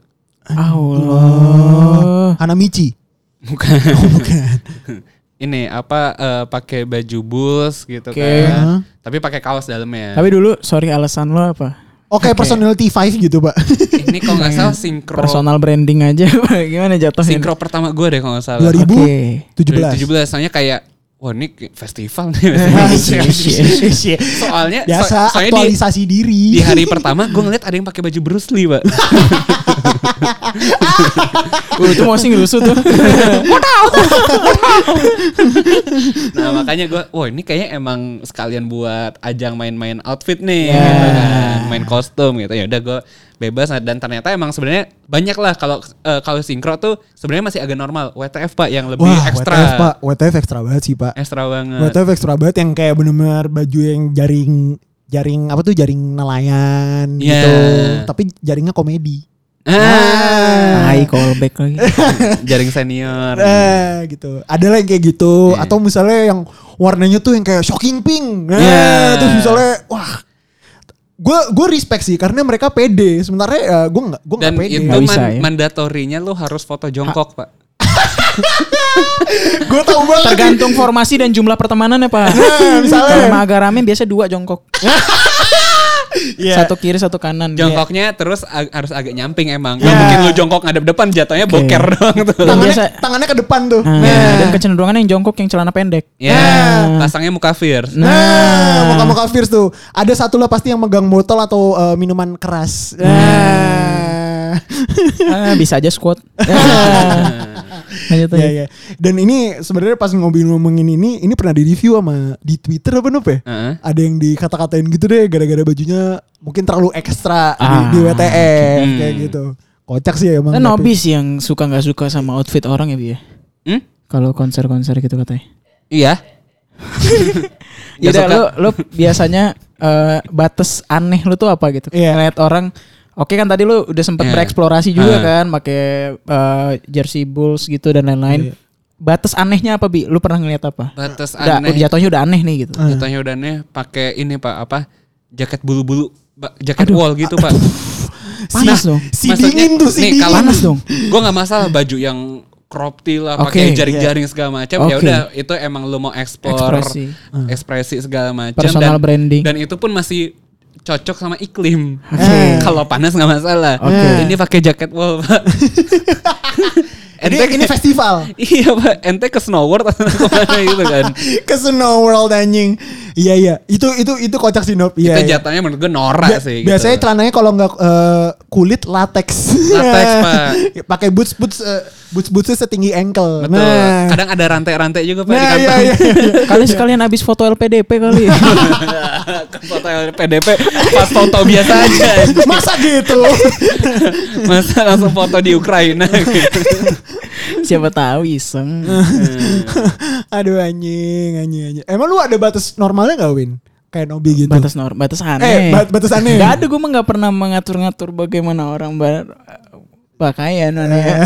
Allah. Hanamichi. Bukan. Bukan. Ini pakai baju Bulls gitu kan. Tapi pakai kaos dalamnya. Tapi dulu alasan lo apa? Oke, personality 5 gitu, Pak. Ini kalau nggak salah sinkro. Personal branding aja. Gimana jatuhnya? Sinkro pertama gue deh kalau nggak salah. 2017. 2017. Soalnya kayak, wah ini festival nih. Soalnya biasa soalnya aktualisasi diri. Di hari pertama gue ngeliat ada yang pakai baju Bruce Lee, Pak. Itu mau sih ngerusuh tuh. Nah makanya gue, wah ini kayaknya emang sekalian buat ajang main-main outfit nih, gitu kan. Main kostum gitu. Ya udah gue bebas, dan ternyata emang sebenarnya banyak lah kalau sinkro tuh sebenarnya masih agak normal. WTF Pak yang lebih ekstra. WTF Pak, WTF ekstra banget sih Pak. Ekstra banget. WTF ekstra banget yang kayak bener-bener baju yang jaring apa tuh, jaring nelayan gitu. Tapi jaringnya komedi. Callback lagi. Jaring senior. Gitu. Ada lah yang kayak gitu. Atau misalnya yang warnanya tuh yang kayak shocking pink. Terus misalnya wah, gue respect sih karena mereka pede. Sementara gue nggak pede. Dan itu mandatorinya lo harus foto jongkok Pak. Gue tahu banget. Tergantung formasi dan jumlah pertemanan ya Pak. Misalnya kalau agak rame biasa 2 jongkok. Satu kiri satu kanan. Jongkoknya terus harus agak nyamping emang. Gak mungkin lu jongkok ngadep depan, jatuhnya boker doang tuh. Tangannya ke depan tuh. Dan kecenderungan yang jongkok yang celana pendek. Pasangnya muka fierce. Muka fierce tuh. Ada satu lah pasti yang megang botol atau minuman keras. Bisa aja squat. Ya. Dan ini sebenarnya pas ngomongin ini pernah di review sama di Twitter apa ya? Ada yang dikata-katain gitu deh gara-gara bajunya mungkin terlalu ekstra di WTF kayak gitu. Kocak sih emang. Kan Nobis yang suka nggak suka sama outfit orang ya Bi ya? Kalau konser-konser gitu katanya. Iya. Ya lo biasanya batas aneh lu tuh apa gitu? Ngeliat orang. Oke kan tadi lu udah sempet bereksplorasi juga kan, pakai jersey Bulls gitu dan lain-lain. Batas anehnya apa Bi? Lu pernah ngeliat apa? Batas aneh. Jatuhnya udah aneh nih gitu. Jatuhnya udah aneh pakai ini Pak, apa? Jaket bulu-bulu, jaket wall gitu Pak. Panas dong. Si dingin tuh, si dingin. Panas dong. Gue nggak masalah baju yang crop tee lah, pakai jaring-jaring segala macam. Ya udah, itu emang lu mau ekspresi segala macam. Personal branding. Dan itu pun masih cocok sama iklim. Kalau panas nggak masalah. Ini pakai jaket wall Pak. Ini festival. Iya Pak, ente ke Snow World atau kemana gitu kan? Ke Snow World anjing. Iya. Itu kocak sih Nob. Itu jatuhnya menurut gue norak sih. Biasanya celananya kalau nggak kulit latex. Latex Pak. Pakai bootsnya setinggi ankle. Betul. Nah. Kadang ada rantai-rantai juga Pak di kantong. Iya. Kali sekalian abis foto LPDP kali. Foto LPDP pas foto biasa aja. Masa gitu? Masa langsung foto di Ukraina gitu. Siapa tahu iseng. Aduh anjing. Emang lu ada batas normalnya gak Win? Kayak Nobi gitu. Batas aneh. Batas aneh. Gak ada, gue mah gak pernah mengatur-ngatur bagaimana orang pakaian aneh.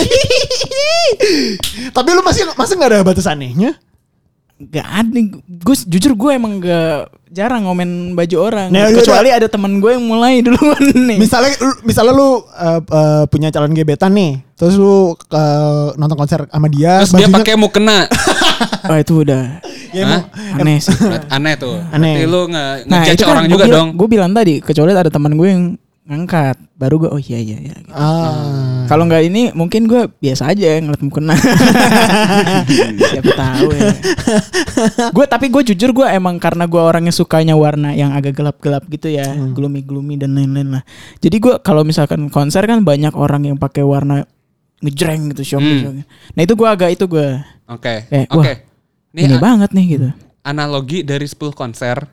Tapi lu masih gak ada batas anehnya? Gak ada. Jujur gue emang gak jarang ngomen baju orang. Kecuali ada teman gue yang mulai duluan nih. Misalnya lu punya calon gebetan nih. Terus lu nonton konser sama dia. Terus dia pakai mukena. Oh itu udah aneh sih. Aneh tuh. Aneh. Berarti lu ngejudge orang juga dong. Gue bilang tadi, kecuali ada teman gue yang ngangkat, baru gue iya gitu. Kalau nggak ini mungkin gue biasa aja ngeliat mukena. Siapa tahu ya. Tapi gue jujur gue emang karena gue orangnya sukanya warna yang agak gelap-gelap gitu ya, gloomy dan lain-lain lah. Jadi gue kalau misalkan konser kan banyak orang yang pakai warna ngejreng gitu, shock. Nah itu gue agak Oke. Ini banget nih gitu. Analogi dari 10 konser.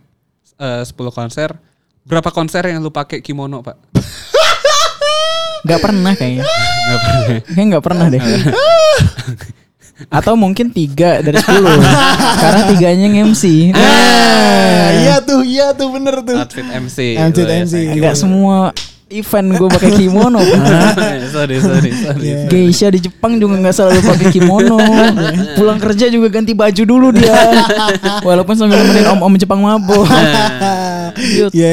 Berapa konser yang lu pakai kimono Pak? Gak pernah kayaknya. Kayaknya gak pernah deh. Atau mungkin 3 dari 10. Karena 3-nya MC. Iya tuh bener tuh. Outfit MC. Gak semua event gue pakai kimono. Sorry. Geisha di Jepang juga nggak selalu pakai kimono. Pulang kerja juga ganti baju dulu dia. Walaupun sambil nemenin om Jepang mabuk. Iya.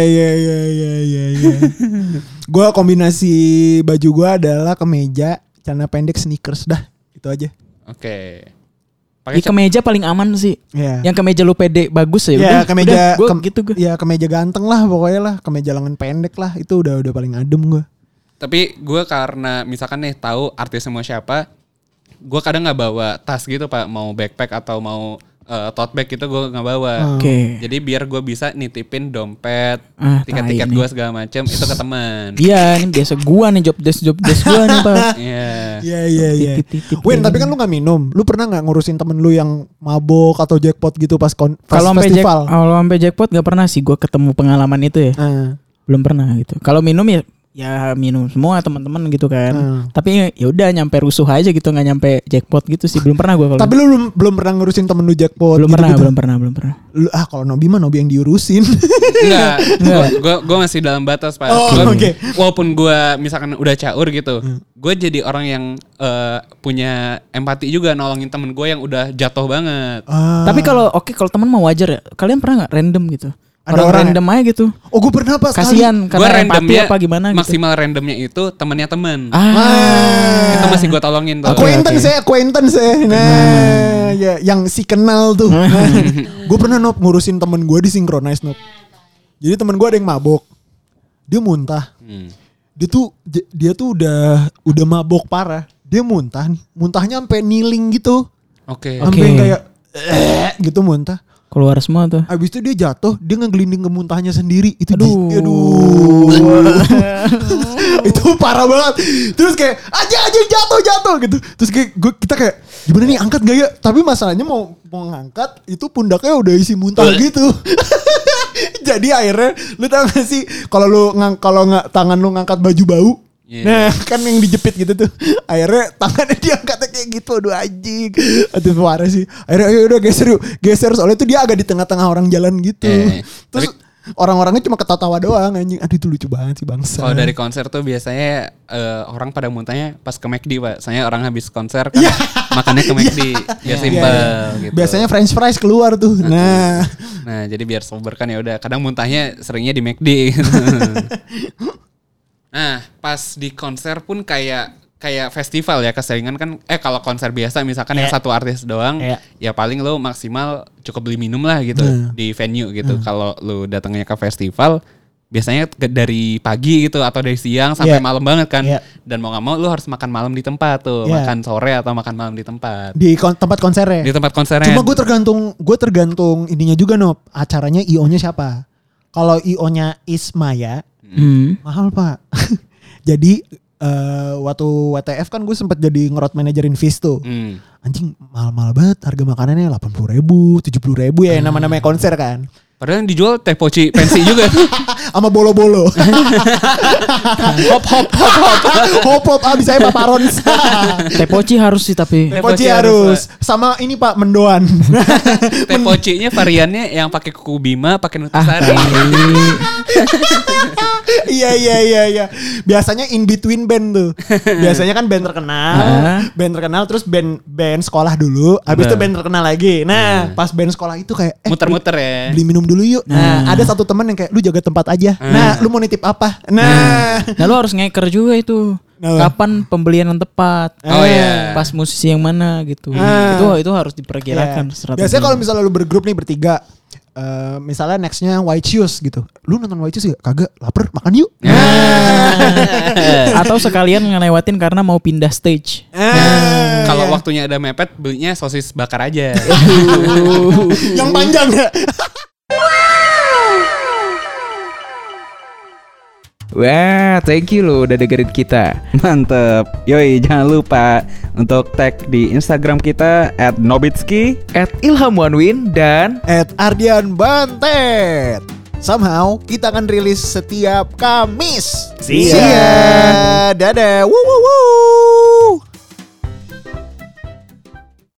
Gue kombinasi baju gue adalah kemeja, celana pendek, sneakers dah. Itu aja. Oke. Di kemeja paling aman sih. Yang kemeja lu pede bagus ya. Iya, kemeja gitu gue. Ya kemeja ganteng lah pokoknya lah, kemeja lengan pendek lah, itu udah paling adem gue. Tapi gue karena misalkan nih tahu artis semua siapa, gue kadang nggak bawa tas gitu Pak, mau backpack atau mau tote bag itu gue nggak bawa. Jadi biar gue bisa nitipin dompet, tiket-tiket gue segala macem itu ke teman. Iya, ini biasa gue nih job desk gue nih Pak. Iya. Win, tapi kan lu nggak minum. Lu pernah nggak ngurusin temen lu yang mabok atau jackpot gitu pas festival? Kalau sampai jackpot nggak pernah sih gue ketemu pengalaman itu ya. Belum pernah gitu. Kalau minum ya minum semua teman-teman gitu kan. Tapi ya udah nyampe rusuh aja gitu, nggak nyampe jackpot gitu sih. Belum pernah gue. Tapi lu belum pernah ngurusin temen lu jackpot? Belum pernah. Lu kalau Nobi mah Nobi yang diurusin. Enggak. Gue masih dalam batas Pak. Walaupun gue misalkan udah caur gitu, gue jadi orang yang punya empati juga nolongin temen gue yang udah jatuh banget. Tapi kalau temen mau wajar ya. Kalian pernah nggak random gitu? Ada orang random aja gitu. Oh, gue pernah pas kasian karena empati apa gimana gitu. Maksimal randomnya itu temennya temen. Itu masih gue tolongin tuh. Acquaintance ya. Nah, ya yang si kenal tuh. Gue pernah ngurusin temen gue di Synchronize Jadi temen gue ada yang mabok. Dia muntah. Dia tuh udah mabok parah. Dia muntah nih. Muntahnya sampai kneeling gitu. Sampai kayak gitu muntah. Keluar semua tuh. Abis itu dia jatuh, dia ngegelinding ke muntahnya sendiri. Itu aduh. Itu parah banget. Terus kayak aja jatuh gitu. Terus kayak kita kayak gimana nih, angkat gak ya? Tapi masalahnya mau ngangkat itu pundaknya udah isi muntah gitu. Jadi akhirnya lu tau gak sih kalau tangan lu ngangkat baju bau. Nah kan yang dijepit gitu tuh. Akhirnya tangannya diangkatnya kayak gitu. Aduh anjing. Aduh parah sih. Akhirnya ayo udah geser. Soalnya itu dia agak di tengah-tengah orang jalan gitu. Terus orang-orangnya cuma ketawa doang anjing. Aduh itu lucu banget sih bangsa. Kalau dari konser tuh biasanya orang pada muntahnya pas ke McD Pak. Soalnya orang habis konser kan makannya ke McD. Biar simpel gitu. Biasanya french fries keluar tuh. Nah jadi biar sober kan ya udah. Kadang muntahnya seringnya di McD gitu. Nah, pas di konser pun kayak festival ya, keseringan kan kalau konser biasa misalkan yang satu artis doang, ya paling lo maksimal cukup beli minum lah gitu di venue gitu. Kalau lo datangnya ke festival biasanya dari pagi gitu atau dari siang sampai malam banget kan. Dan mau gak mau lo harus makan malam di tempat tuh, makan sore atau makan malam di tempat. Di tempat konsernya. Di tempat konsernya. Cuma gue tergantung ininya juga acaranya IO-nya siapa. Kalau IO-nya Ismaya mahal Pak. Jadi waktu WTF kan gue sempet jadi ngerot manajerin Fizz tuh. Anjing mahal-mahal banget harga makanannya 80.000, 70.000 ya nama-namanya konser kan. Padahal yang dijual teh poci pensi juga. Sama bolo-bolo. Hop abis saya paparon. Teh poci harus sih tapi. Teh poci harus. Sama ini Pak mendoan. Teh pocinya variannya yang pakai kuku bima, pakai nutrisari. Iya. Biasanya in between band tuh. Biasanya kan band terkenal terus band sekolah dulu, habis itu band terkenal lagi. Nah, pas band sekolah itu kayak muter-muter ya. Beli minum dulu yuk. Nah, ada satu teman yang kayak lu jaga tempat aja. Nah, lu mau nitip apa? Nah, lu harus ngeker juga itu. Kapan pembelian yang tepat? Pas musisi yang mana gitu. Itu harus diperkirakan. Biasanya kalau misalnya lu bergrup nih bertiga, misalnya nextnya White Shoes gitu. Lu nonton White Shoes gak? Kagak, lapar, makan yuk. Atau sekalian ngelewatin karena mau pindah stage. Kalau waktunya ada mepet, belinya sosis bakar aja. Yang panjang ya. Wah, thank you lo udah dengerin kita. Mantep. Yoi, jangan lupa untuk tag di Instagram kita @nobitski, @ilhamuanwin, dan @ardianbantet. Somehow kita akan rilis setiap Kamis. See ya. Dadah. Woo.